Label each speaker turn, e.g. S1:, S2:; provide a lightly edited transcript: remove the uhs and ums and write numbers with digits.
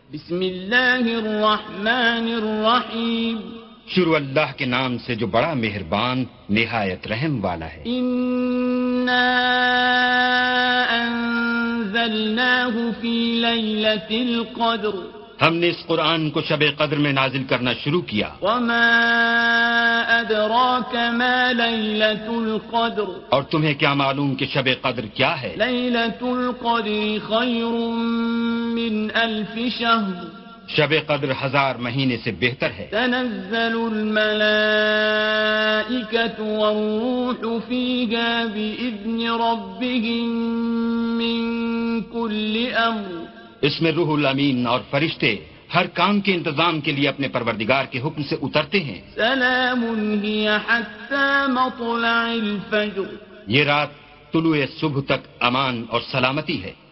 S1: बिस्मिल्लाहिर्रहमानिर्रहीम।
S2: शुरू अल्लाह के नाम से जो बड़ा मेहरबान निहायत रहम वाला है।
S1: इन्ना अंज़लनाहु फी लैलतिल क़द्र।
S2: हमने इस कुरान को शब कद्र में नाजिल करना शुरू किया।
S1: वमा अदराक मा लैलतुल क़द्र।
S2: और तुम्हें क्या मालूम कि शब कद्र क्या है?
S1: लैलतुल क़द्र खैरुम मिन अल्फ शहर।
S2: शब कद्र 1000 महीने से बेहतर है।
S1: तनज़्ज़लुल मलाइकतु वर्रूहु फ़ीहा बिइज़्नि रब्बिहिम मिन कुल्लि अम्र।
S2: इसमें रूहुल अमीन और फरिश्ते हर काम के इंतजाम के लिए अपने परवरदिगार के हुक्म से उतरते हैं।
S1: सलामुन हिय हत्ता मत्लइल फज्र।
S2: ये रात तुलुए सुबह तक अमान और सलामती है।